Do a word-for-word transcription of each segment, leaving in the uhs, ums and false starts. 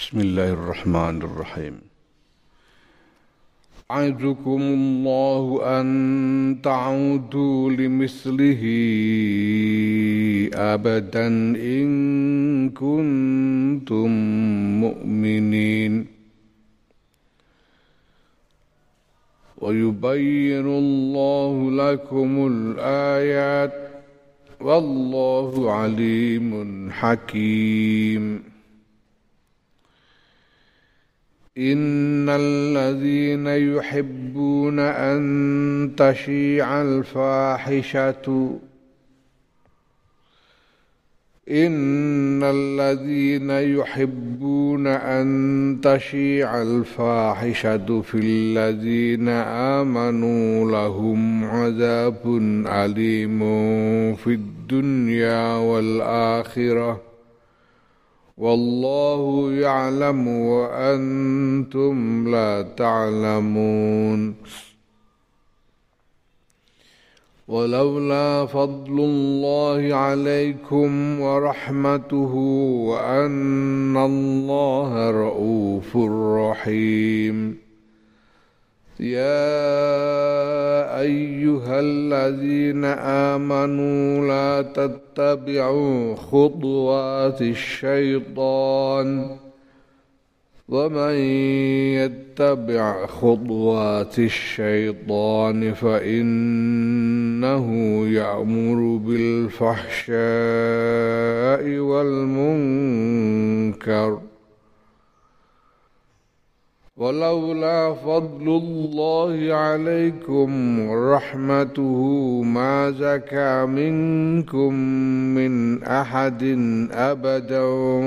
Bismillahirrahmanirrahim. A'idzukumullahu an ta'udu limislihi abadan in kuntum mu'minin. Wa yubayyinullahu lakumul ayat wallahu alimun hakim. Innal ladzina yuhibbuna an tashi'al fahishatu Innal ladzina yuhibbuna an tashi'al fahishatu fil ladzina amanu lahum 'adzabun alimun fid dunya wal akhirah Wallahu ya'lamu wa antum la ta'lamun. Walaula fadlullahi 'alaikum wa rahmatuhu wa anna Allaha ra'ufur rahim. يا أيها الذين آمنوا لا تتبعوا خطوات الشيطان ومن يتبع خطوات الشيطان فإنه يأمر بالفحشاء والمنكر ولولا فضل الله عليكم ورحمته ما زكى منكم من أحد أبدا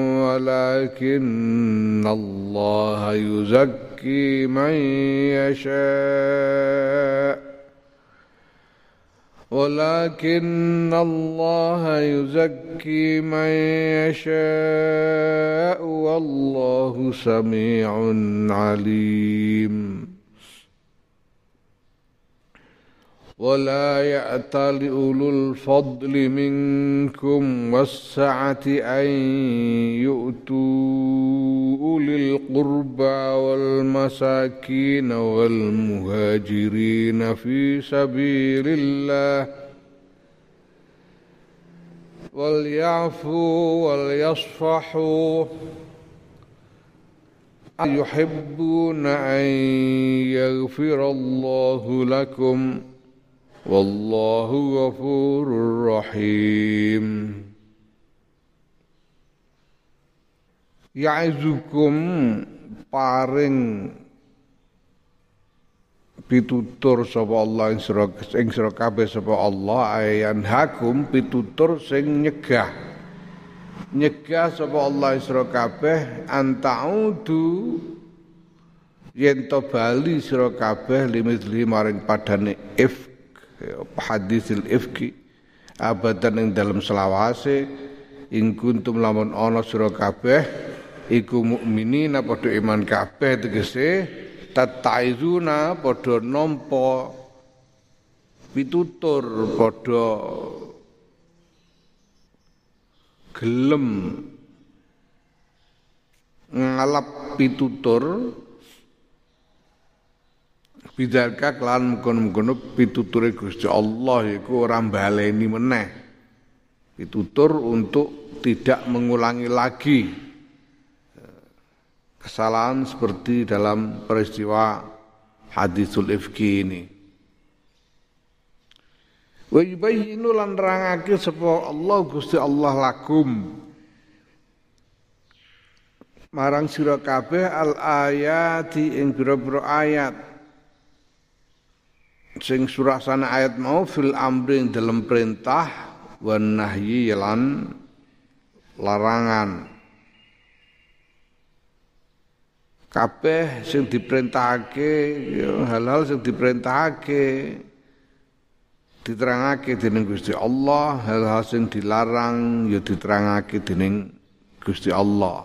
ولكن الله يزكي من يشاء ولكن الله يزكي من يشاء والله سميع عليم ولا يأتل أولو الفضل منكم والسعة أن يؤتوا أولي القربى والمساكين والمهاجرين في سبيل الله وليعفوا وليصفحوا يحبون أن يغفر الله لكم Wallahu ghafurur rahim. Ya'izukum paring pitutur sapa Allah ing sira ing sira kabeh sapa Allah ayan hakum pitutur sing nyegah. Nyegah sapa Allah ing sira kabeh antaudu yen to bali sira kabeh limithli maring padane if hadisil ifki abadan ing dalam selawase ing kuntum lamun ana sira kabeh iku mukminina padha iman kabeh tegese tataizuna padha nampa pitutur padha gelem ngalap pitutur bidalka kelan mengkono-mengkono pituture Gusti Allah iku ora baleni meneh. Pitutur untuk tidak mengulangi lagi kesalahan seperti dalam peristiwa hadisul ifki ini. Wa yubayyinu lan nerangake sapa Allah Gusti Allah lakum marang sira kabeh al ayati ing pira-pira ayat sing surasana ayat mau fil amri dalam perintah wan nahyi lan larangan kabeh sing diperintahake hal-hal sing diperintahake diterangake dening Gusti Allah hal-hal sing dilarang ya diterangake dening Gusti Allah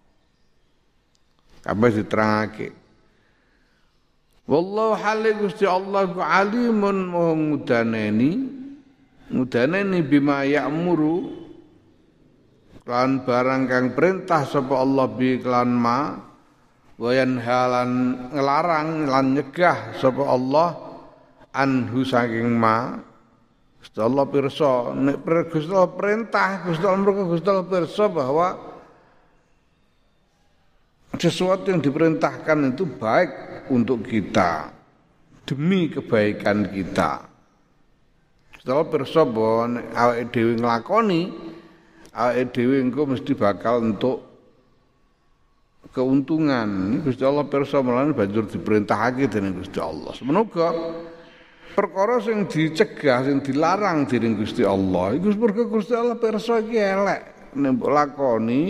kabeh diterangake. Wallahu hale Gusti Allah ku alimun maha ngudaneni ngudaneni bima ya'muru Lan barang kang perintah sapa Allah bi klan ma wayan halan ngelarang lan nyegah sapa Allah anhu saking ma. Gusti Allah pirsa nek Gusti Allah perintah Gusti Allah mergo Gusti Allah pirsa bahwa sesuatu yang diperintahkan itu baik untuk kita demi kebaikan kita. Gusti Allah pirsa bahwa awake dhewe nglakoni awake dhewe engko mesti bakal untuk keuntungan. Gusti Allah pirsa mulane banjur diperintahake dening Gusti Allah. Semoga perkara sing dicegah, sing dilarang dening Gusti Allah, iku mergo Gusti Allah pirsa iki elek, nek mbok lakoni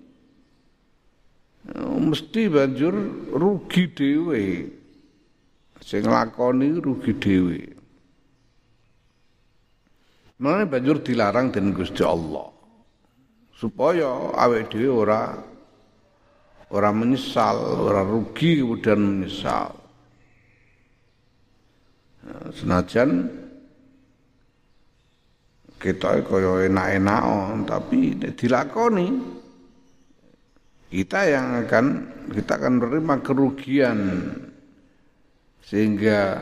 mesti banjur rugi dhewe. Sing lakoni rugi dhewe. Mulane banjur dilarang dening Gusti Allah. Supaya awake dhewe ora ora menyesal, ora rugi kemudian menyesal. Senajan kita kaya enak-enak tapi dilakoni kita yang akan kita akan menerima kerugian sehingga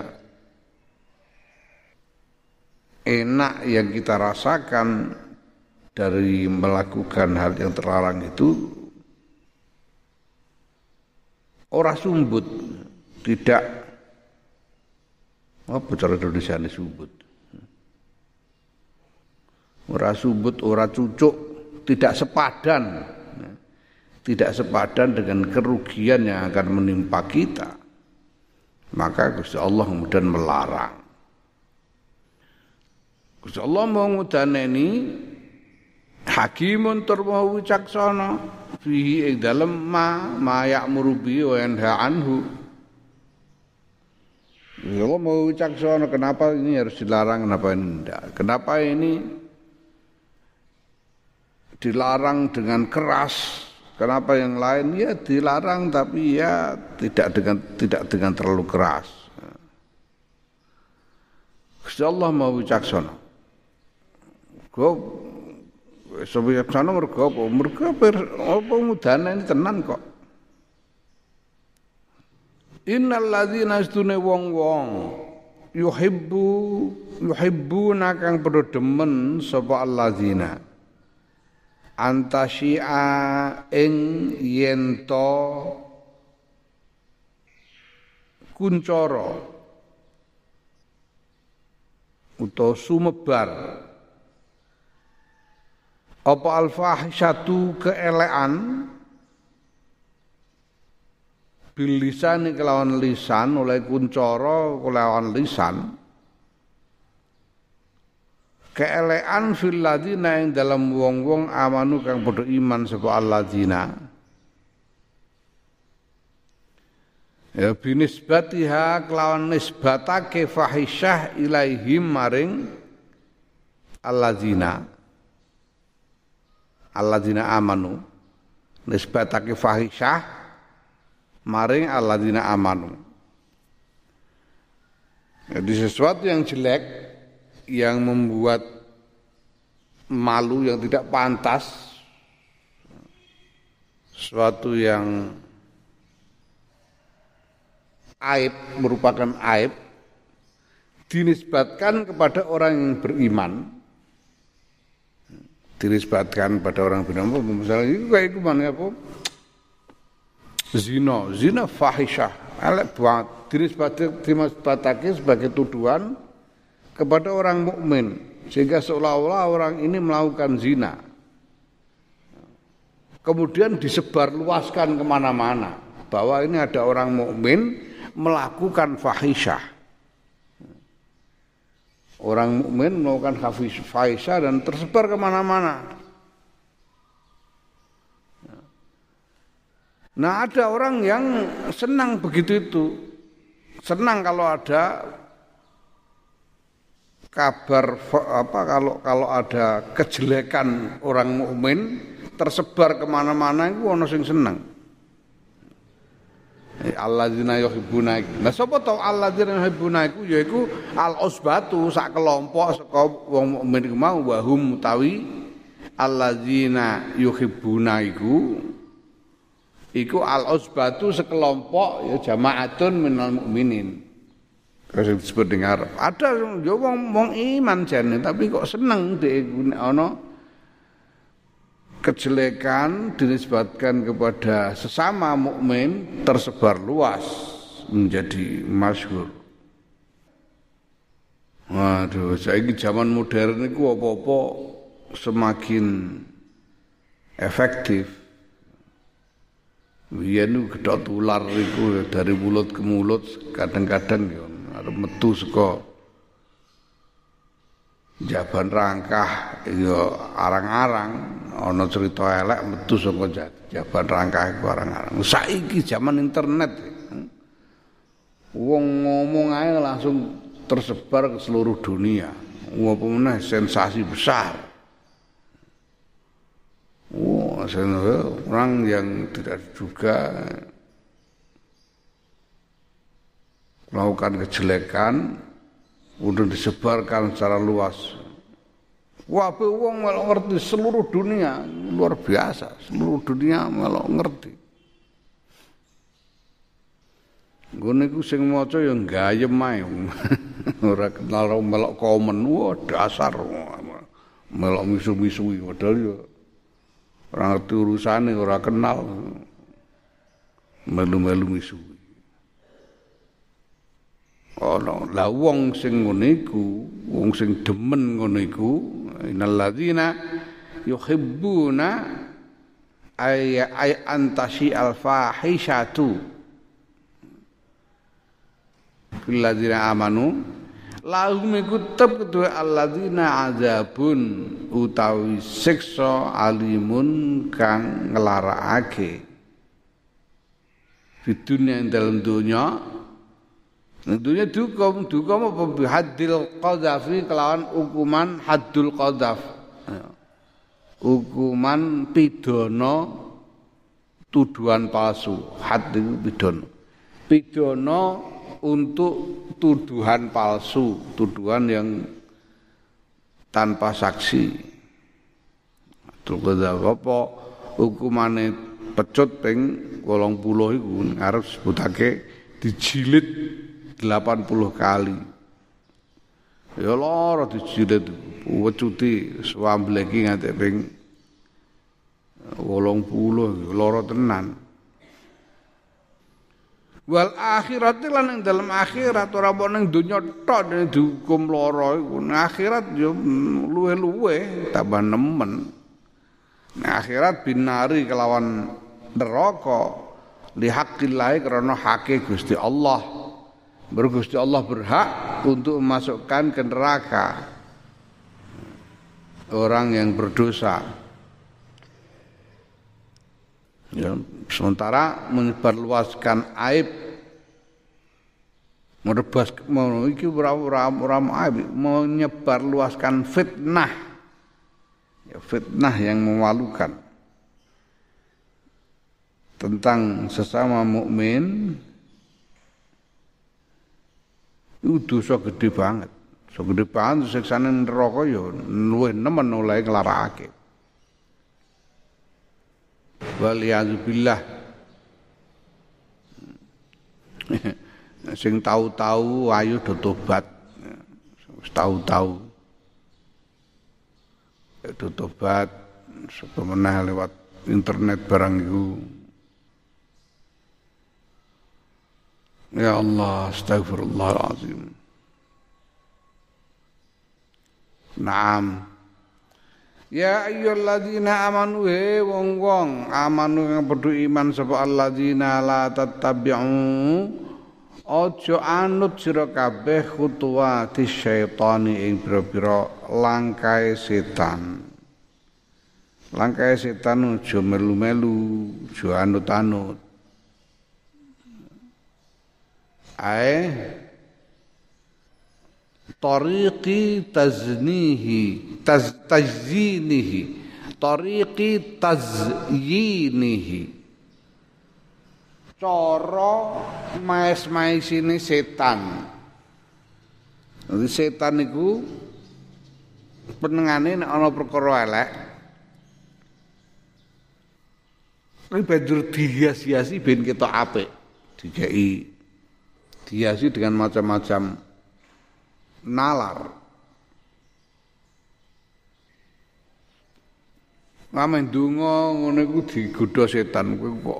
enak yang kita rasakan dari melakukan hal yang terlarang itu ora sumbut, tidak apa cara Indonesia ini sumbut? Ora sumbut, ora cucuk, tidak sepadan. Tidak sepadan dengan kerugian yang akan menimpa kita. Maka Gusti Allah kemudian melarang. Gusti Allah mau ngudaneni hakimun tur maha wicaksana fihi ing dalem ma ma ya'muru bihi wa yanha anhu. Allah mau wicaksana kenapa ini harus dilarang, kenapa ini tidak. Kenapa ini dilarang dengan keras, kenapa yang lain ya dilarang tapi ya tidak dengan tidak dengan terlalu keras. Gusti Allah mau wicaksana. Go wicaksana mergo apa? Mergo apa mudane ini tenan kok. Innal ladzina astune wong-wong yuhibbu yuhibbuna kang padha demen sapa alladzina antasyi'a ing yento kuncara utawa sumebar apa alfahisatu keelekan bil lisan kelawan lisan oleh kuncara kelawan lisan keelekan fil ladina ing dalam wong-wong amanu kang padha iman sapa alladzina ya binisbatiha kelawan nisbatake fahisyah ilaihim maring alladzina alladzina amanu nisbatake fahisyah maring alladzina amanu. Jadi sesuatu yang jelek yang membuat malu yang tidak pantas, sesuatu yang aib merupakan aib dinisbatkan kepada orang yang beriman. Dinisbatkan pada orang beriman, misalnya itu kayak itu mana apa? Zina, zina fahisyah, elek banget. Dinisbatake sebagai tuduhan kepada orang mukmin, sehingga seolah-olah orang ini melakukan zina. Kemudian disebarluaskan kemana-mana bahwa ini ada orang mukmin melakukan fahisyah. Orang mukmin melakukan fahisyah dan tersebar kemana-mana. Nah, ada orang yang senang begitu itu. Senang kalau ada kabar apa kalau kalau ada kejelekan orang mukmin tersebar kemana-mana itu ono sing senang. Alladzina yuhibbuna iku. Lah sapa to alladzina yuhibbuna iku yaiku al-usbatu sak kelompok saka wong mukmin iku mau wa hum utawi alladzina yuhibbuna iku iku al-usbatu sekelompok ya jamaatun minal mukminin. Kasih disebut dengan Arab. Ada ya wong wong iman jane tapi kok seneng dhek ana kejelekan dinisbatkan kepada sesama mukmin tersebar luas menjadi masyhur. Waduh, saiki zaman modern iku apa-apa semakin efektif. Biyen gedhok tular iku dari mulut ke mulut kadang-kadang ya arep metu saka jaban rangkah ya arang-arang ana cerita elek metu saka jaban rangkah iku arang-arang. Saiki zaman internet wong ngomong ae langsung tersebar ke seluruh dunia. Apa meneh sensasi besar. Oh, orang yang tidak diduga melakukan kejelekan udah disebarkan secara luas. Wah, wong melok ngerti seluruh dunia, luar biasa. Seluruh dunia melok ngerti. Ngene iku sing maca ya gayem ae. Ora kenal melok komen, wah dasar melok misu-misui padahal ya ora ngerti urusane, ora kenal. Melu-melu misui. Ana la wong sing ngene iku, wong sing demen ngono iku, innalladzina yuhibbuna ay ay antashi al-fahishatu fil ladzina amanu lahum iku tep kedue alladzina azabun utawi siksa alimun kang nglarakake di dunia ing dalam dunya. Tentunya dukum, dukum apa bihadil qadhafi kelawan hukuman haddul qadhaf. Hukuman pidana tuduhan palsu. Had itu pidana. Pidana untuk tuduhan palsu, tuduhan yang tanpa saksi. Haddul qadhaf apa hukumane pecut ping wolong puluh iku arep sebutake dijilid delapan puluh kali. Ya lara dijilid wecuti swambleki nganti ping wolong puluh lara tenan. Wal akhirat lan ing dalem akhirat ora apa ning donya tok dihukum lara iku. Akhirat ya luwe-luwe tambah nemen. Nah, akhirat binari kelawan neraka li haqqillah karena hake Gusti Allah. Bergusti Allah berhak untuk memasukkan ke neraka orang yang berdosa. Ya, sementara menyebarluaskan aib, merebas mau iki ora aib, menyebarluaskan fitnah. Ya, fitnah yang memalukan tentang sesama mukmin. Itu dosa gede banget. So gede banget siksane neraka ya luwih nemen oleh nglarakake. Waliyazubillah. Sing tahu-tahu ayo do tobat. Wis tahu-tahu. Do tobat sapa meneh lewat internet barang iku. Ya Allah, astaghfirullahaladzim. Naam. Ya ayyuhalladzina amanu he wong-wong amanu kang padha iman sapa alladzina la tattabi'u aja anut sira kabeh khutuwati syaitani ing pira-pira langkahe setan. Langkahe setan aja melu-melu, aja anut-anut. Ai tariqi taznihi taz tajzinihi tariqi tazyinihi cara maes-maesine setan. Jadi setan iku penengane nek ana perkara elek Tapi banjur dihias-hiasi ben ketok apik. Dikei dihiasi dengan macam-macam nalar. Ngamen donga ngono iku digodha setan kowe kok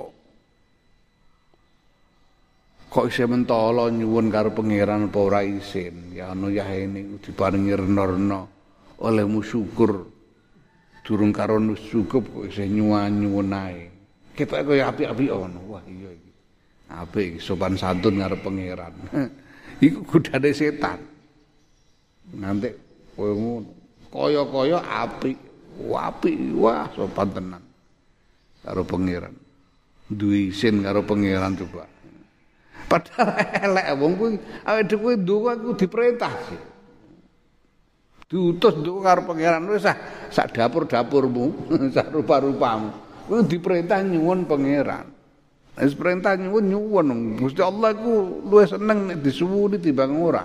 kok isih mentolo nyuwun karo pangeran apa ora isin. Ya ana yahene diparingi rena-rena olehmu syukur. Durung karo cukup kok isih nyuwun-nyuwun ae. Ketok kaya apik-apik ngono. Wah iya iki. Apik sopan santun karo pangeran. Iku godane setan. Nanti kowe ngono. Kaya-kaya apik, apik, wah sopan tenan karo pangeran. Duwe isin karo pangeran coba. Padahal elek wong kuwi awake dhewe ndonga iku diperintah sih. Diutus ndonga karo pangeran wis sak dapur-dapurmu, sak rupa-rupamu. Kuwi diperintah nyuwun pangeran. Wis perintah nyuwun nyuwun Gusti Allah iku luwih seneng nek disuwuni timbang ora.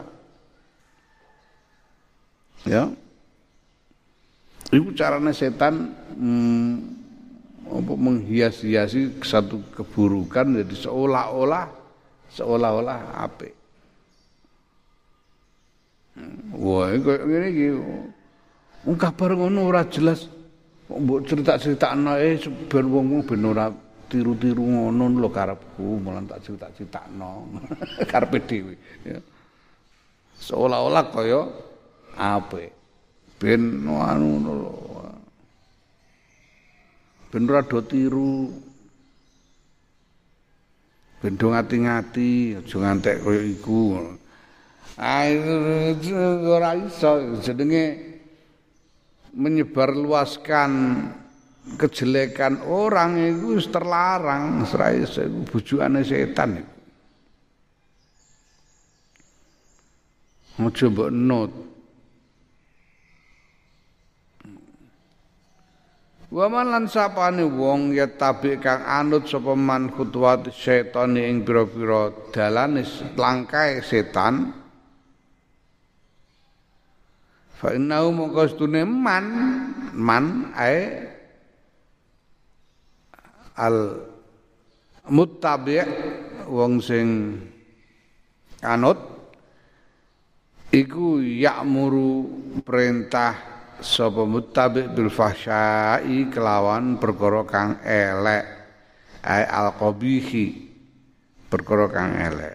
Ya. Iku carane setan hmm, apa menghias-hiasi satu keburukan jadi seolah-olah seolah-olah apik. Wah, kaya ngene iki. Wong kabar ngono ora jelas. Mbok cerita-critakno eh ben wong ben ora tiru-tiru ngono lho karepku, malah tak cerita-critakno. Karepe dhewe, ya. Seolah-olah kaya apik. Ben anu lho. Ben ora do tiru. Ben do ngati-ngati, aja ngantek kaya iku. Ah ora iso jenenge menyebarluaskan kejelekan orang itu terlarang, ora iso iku bujukane setan iku. Aja mbok not. Wa man lan sapane wong ya tabi kang anut sapa man khutuwat setan ing pira-pira dalane langkae setan fa innahu maqastune man man ae al muttabi' wong sing anut iku ya'muru perintah sapa muttabi' bil fahsya'i kelawan perkara kang elek ae al qabihi perkara kang elek.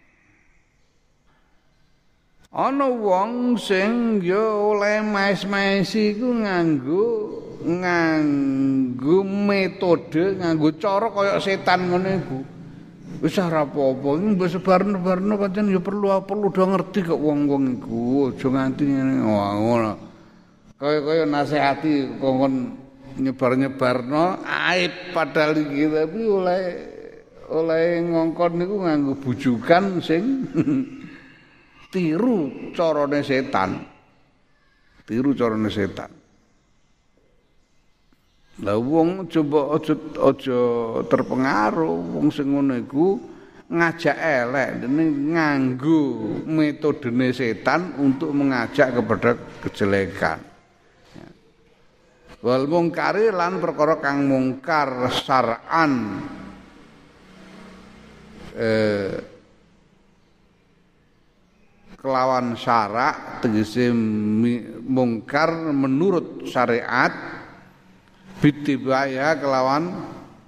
Ana wong sing ya oleh maes-maesi iku nganggo nganggo metode, nganggo cara kaya setan ngono iku. Wis ora apa-apa, iki mbok sebarno-barno pancen ya perlu perlu do ngerti kok wong-wong iku, aja nganti ngene ngono. Kaya-kaya nasihati kongkon nyebar-nyebarno aib padahal iki tapi oleh oleh ngongkon niku nganggo bujukan sing tiru carane setan. Tiru carane setan. Lah wong coba aja aja terpengaruh wong sing ngono iku ngajak elek dene nganggo metodene setan untuk mengajak kepada kejelekan. Wal mungkari lan perkara kang mungkar syar'an eh kelawan syarak tegese mungkar menurut syariat bitibaya kelawan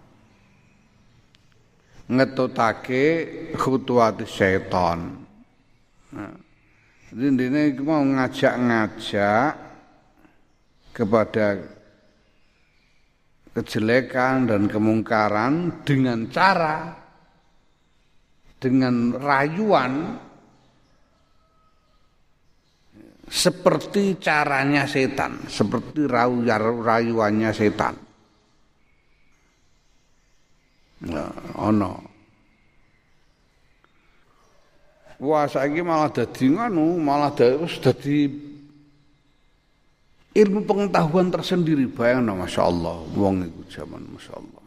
ngetutake khutuwat syaitan. Nah, ini mau ngajak-ngajak kepada kejelekan dan kemungkaran dengan cara dengan rayuan seperti caranya setan, seperti rayuannya setan. Nah, ono. Wah, saiki malah dadi ngono, malah wis dadi ilmu pengetahuan tersendiri. Bayangno masyaallah wong iku zaman masyaallah.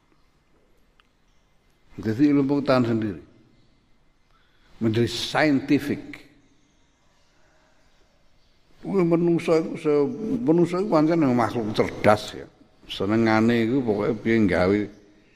Jadi ilmu pengetahuan sendiri. Menjadi scientific. Menungso iku menungso iku pancen makhluk cerdas ya. Senengane iku pokoke piye gawe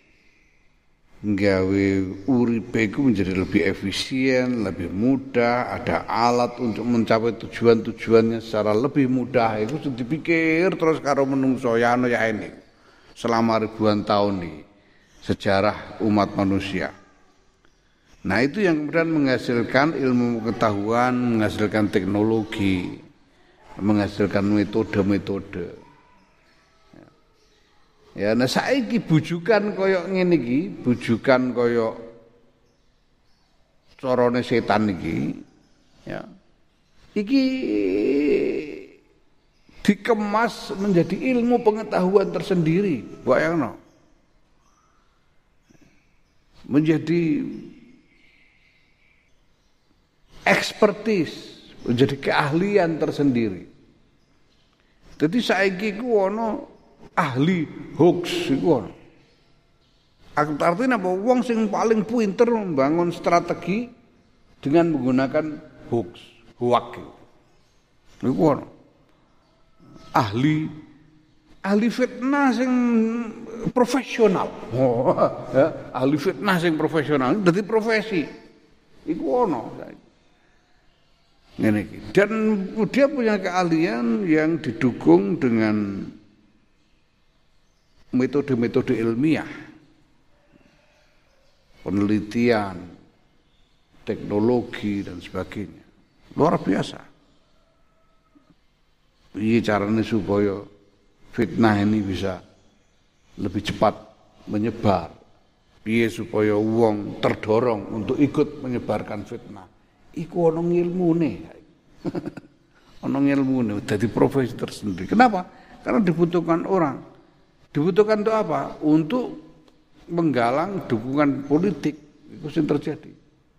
nggawe uripe iku menjadi lebih efisien, lebih mudah, ada alat untuk mencapai tujuan-tujuannya secara lebih mudah. Itu sudah dipikir terus karo menungso ya ana ya ini. Selama ribuan tahun nih sejarah umat manusia. Nah, itu yang kemudian menghasilkan ilmu pengetahuan, menghasilkan teknologi, menghasilkan metode-metode. Ya, nah saiki bujukan koyok ngene iki, bujukan koyok carane setan iki, ya. Iki dikemas menjadi ilmu pengetahuan tersendiri, bayangno. Menjadi ekspertis, menjadi keahlian tersendiri. Jadi saiki ku ana ahli hoax iku ana. Artinya apa? Wong sing paling pinter membangun strategi dengan menggunakan hoax, hoak. Iku ana. Ahli ahli fitnah sing profesional. Oh, ya, ahli fitnah sing profesional dadi profesi. Iku ana. Ngene iki. Dan dia punya keahlian yang didukung dengan metode-metode ilmiah, penelitian, teknologi dan sebagainya. Luar biasa. Piye caranya supaya fitnah ini bisa lebih cepat menyebar? Piye supaya wong terdorong untuk ikut menyebarkan fitnah? Iku ana ilmune. Ana ilmune dadi profesi tersendiri. Kenapa? Karena dibutuhkan orang. Dibutuhkan untuk apa? Untuk menggalang dukungan politik. Itu sing terjadi.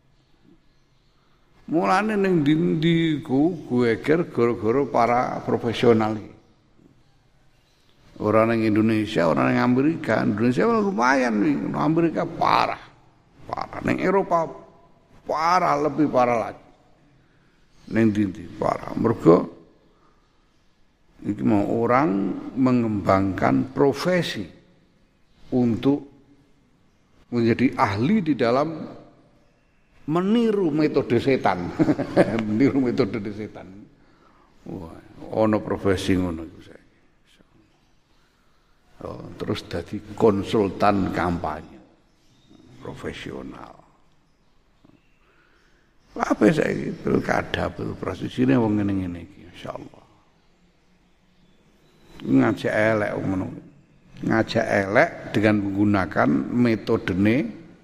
Mulane ning ndi-ndi ku geger gara-gara para profesional iki. Orang ning Indonesia, orang ning Amerika, Indonesia lumayan nih, Amerika parah. Parah ning Eropa parah, lebih parah lagi. Ning ndi parah. Mergo iki mau orang mengembangkan profesi untuk menjadi ahli di dalam meniru metode setan. Meniru metode setan. Wah, ono profesi ngono iku saiki. Oh, terus dadi konsultan kampanye profesional. Apa saiki pilkada, pilpres isine wong ngene-ngene iki insyaallah. Ngajak elek ngono. Ngajak elek dengan menggunakan metodene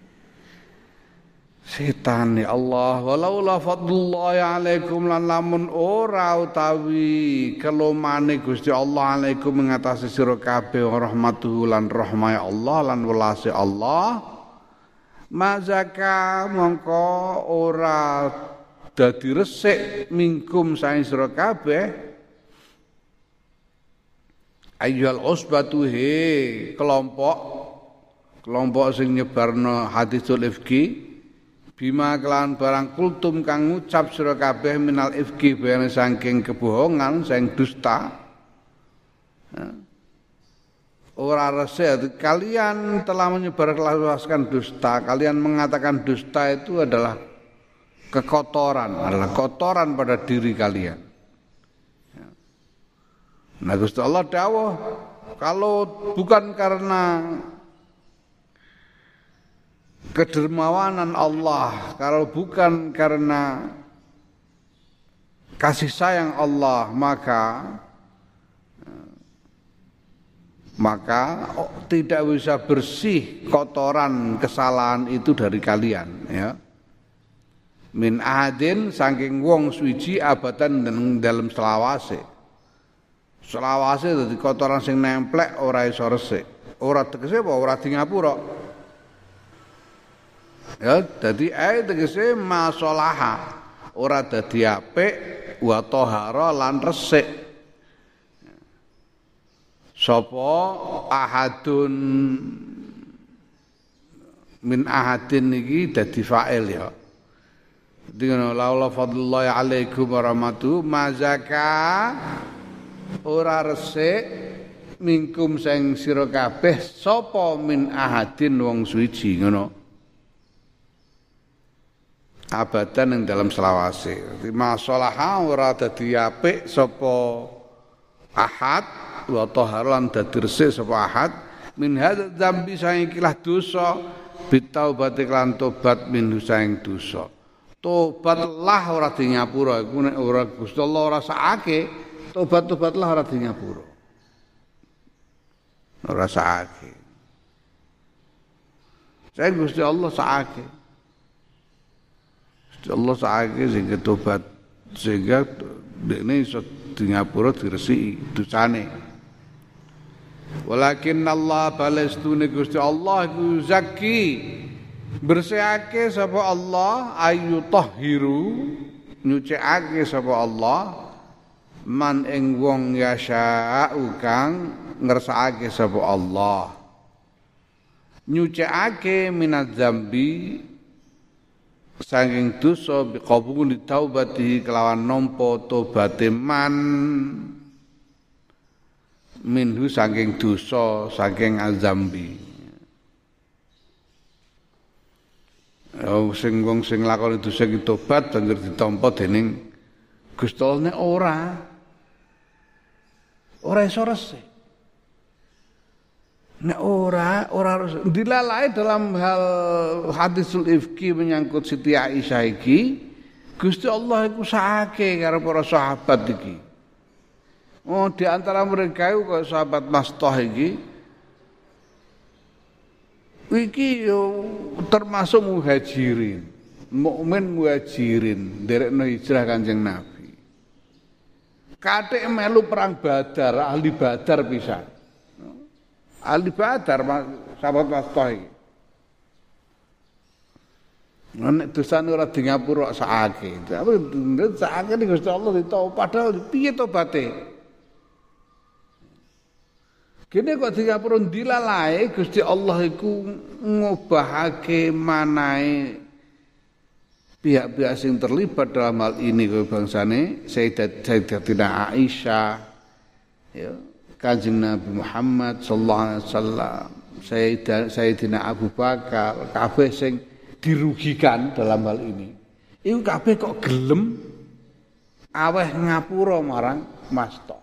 setan ya Allah. Walaula fadlullahi alaikum lan lamun ora utawi kelomane Gusti Allah alaikum mengatasi sira kabeh rahmatuhu lan rahmah Allah lan welase Allah. Mazaka mongko ora dadi resik mingkum saing sira kabeh. Ayyuhal usbatu he kelompok kelompok sing nyebarno hadisul ifki bima kelan barang kultum kang ngucap sira kabeh minal ifki bayane saking kebohongan sing dusta. Ora resik kalian telah menyebarluaskan dusta, kalian mengatakan dusta itu adalah kekotoran, adalah kotoran pada diri kalian. Nah Gusti Allah dawuh kalau bukan karena kedermawanan Allah, kalau bukan karena kasih sayang Allah, maka maka oh, tidak bisa bersih kotoran kesalahan itu dari kalian, ya. Min ahadin saking wong suci abadan dalam selawase. Selawase dadi kotoran sing nemplek ora iso resik. Ora tegese apa ora di ngapura. Ya, dadi ae tegese masalaha. Ora dadi apik wa tahara lan resik. Sapa ahadun min ahadin iki dadi fa'il ya. Dengan laula fadlullahi alaikum wa rahmatuhu mazaka ora resik mingkum sing sira kabeh sapa min ahadin wong suci ngono abadan ing dalam selawase masalaha ora dadi apik sapa ahad wa taharan dadi resik sapa ahad min hadza dzambi saing ikilah dosa bitaubati lan tobat min saing dosa tobatlah ora di nyapura iku nek ora Gusti Allah ora sakake tobat-tobatlah ora di nyapura ora sakake saya Gusti Allah sakake Gusti Allah sakake sehingga tobat sehingga dekne iso di nyapura diresiki dosane walakin Allah balestune Gusti Allah iku zaki bersihake sapa Allah ayu tahhiru nyucikake sapa Allah man ing wong yasha'u kang ngersakake sapa Allah nyucikake minaz zambi saking dosa biqabuli taubati kelawan nampa tobaté man minhu saking dosa saking azambi oh sing wong sing lakoni dosa iki tobat banjur ditampa dening Gusti Allah nek ora ora iso resik nek ora ora dilalai dalam hal hadisul ifki menyangkut Siti Aisyah iki Gusti Allah iku sakake karo para sahabat iki oh di antara mereka itu kaya sahabat Mastah iki iki yo termasuk muhajirin mukmin muhajirin nderekno hijrah Kanjeng Nabi kathik melu perang Badar ahli Badar pisan ahli Badar sahabat Mastah iki nek dosane ora di ngapura sakake tapi sakake Gusti Allah ditobat padahal piye tobaté kene kok dikapura dilalae Gusti Allah iku ngobahake manahe pihak-pihak sing terlibat dalam hal ini kaya bangsane Sayyidatina Aisyah ya Kanjeng Nabi Muhammad sallallahu alaihi wasallam Sayyidina Abu Bakar kabeh sing dirugikan dalam hal ini iku kabeh kok gelem aweh ngapura marang Mastah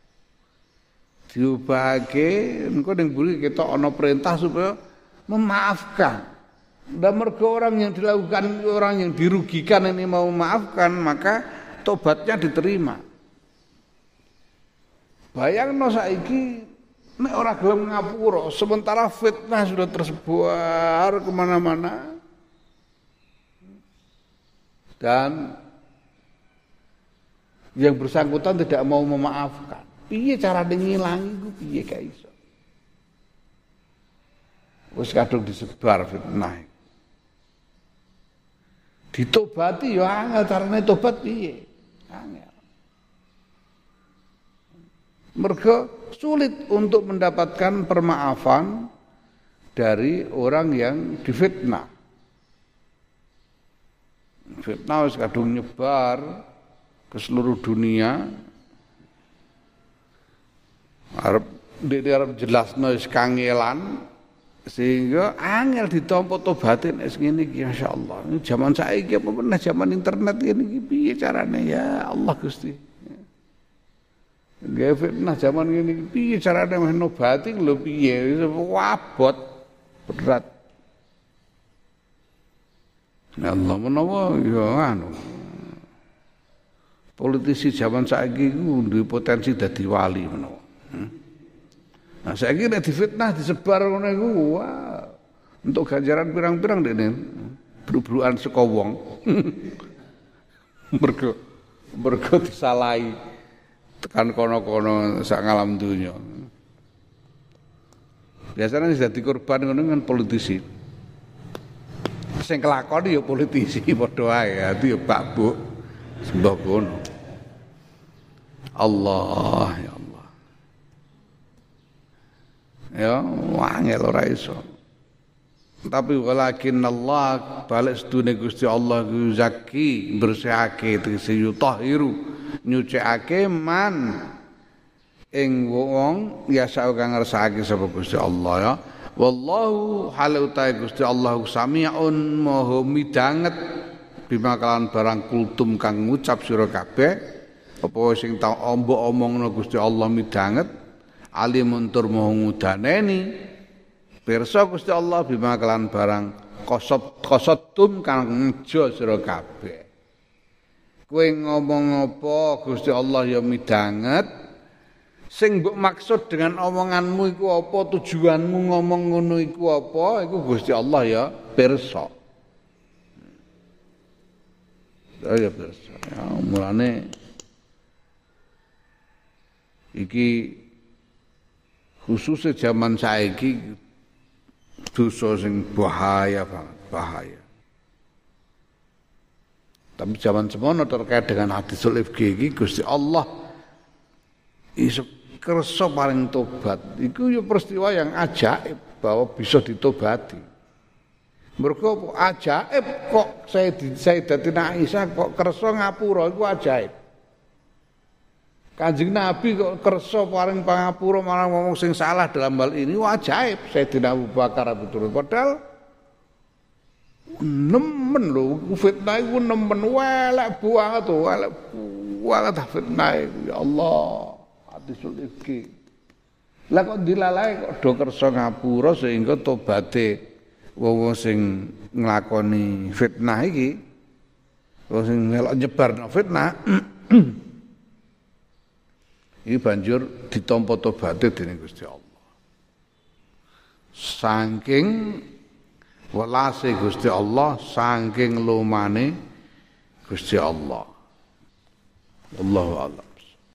diubahake engko ning buri ketok ana perintah supaya memaafkan. Dan mergo orang yang dilakukan orang yang dirugikan ini mau memaafkan maka tobatnya diterima. Bayangno saiki nek ora gelem ngapura sementara fitnah sudah tersebar kemana-mana dan yang bersangkutan tidak mau memaafkan. Piye carane ngilangi ku piye gak iso. Wis kadung disebar fitnah. Ditobati ya angel carane tobat piye? Angel. Mergo sulit untuk mendapatkan permaafan dari orang yang difitnah. Fitnah wis kadung nyebar ke seluruh dunia. Arep dhewe arep jelasno wis kangelan sehingga angel ditampa tobaté nek ngene iki masyaallah. Zaman saiki apa meneh zaman internet ngene iki piye carane ya Allah Gusti. Nggih fitnah zaman ngene iki piye carane meh nobati lho piye wabot berat. Ya Allah menawa ya anu. Politisi zaman saiki iku duwe potensi dadi wali menawa. Nah saiki nek difitnah disebar ngono iku wah untuk ganjaran pirang-pirang dene bru-bruan saka wong. Mergo mergo disalahi tekan kono-kono sak ngalam donya. Biasanya sing dadi korban ngono kan politisi. Sing kelakon ya politisi padha wae, ati ya Pak Bu. Sembah kono. Allah ya Allah. Ya, wangel ora iso. Tapi walakin Allah balik sedune Gusti Allah ku zaki bersihake tegese yutahhiru nyucikake man ing wong yasa kang ngersakake sapa Gusti Allah ya. Wallahu halu ta Gusti Allah samiun maha midanget bima kalawan barang kultum kang ngucap sira kabeh apa sing tak ombo omongno Gusti Allah midanget alimun tur maha ngudaneni pirsa Gusti Allah bima kalawan barang kosot kosotum kang ngejo sira kabeh kowe ngomong apa Gusti Allah ya midanget sing mbok maksud dengan omonganmu iku apa, tujuanmu ngomong ngono iku apa, iku Gusti Allah ya pirsa. Ya pirsa. Ya mulane iki khususnya zaman saiki dosa sing bahaya banget, bahaya. Tapi zaman semono terkait dengan hadisul ifki iki Gusti Allah iso kersa paling tobat iku ya peristiwa yang ajaib bahwa bisa ditobati. Mergo ajaib kok Sayyidatina Aisyah kok kersa ngapura iku ajaib. Kanjeng Nabi kok kersa paling pangapura marang wong sing salah dalam hal ini ajaib. Sayyidina Abu Bakar betul padahal nemen lho fitnah iku nemen welek banget to, welek banget fitnah ya Allah. Hadisul ifki. Lah kok dilalai kok do kersa ngapura sehingga tobaté wong sing nglakoni fitnah iki, wong sing melok nyebarno fitnah iki banjur ditampa tobaté dening Gusti Allah. Saking welase Gusti Allah, saking lumane Gusti Allah. Wallahu a'lam.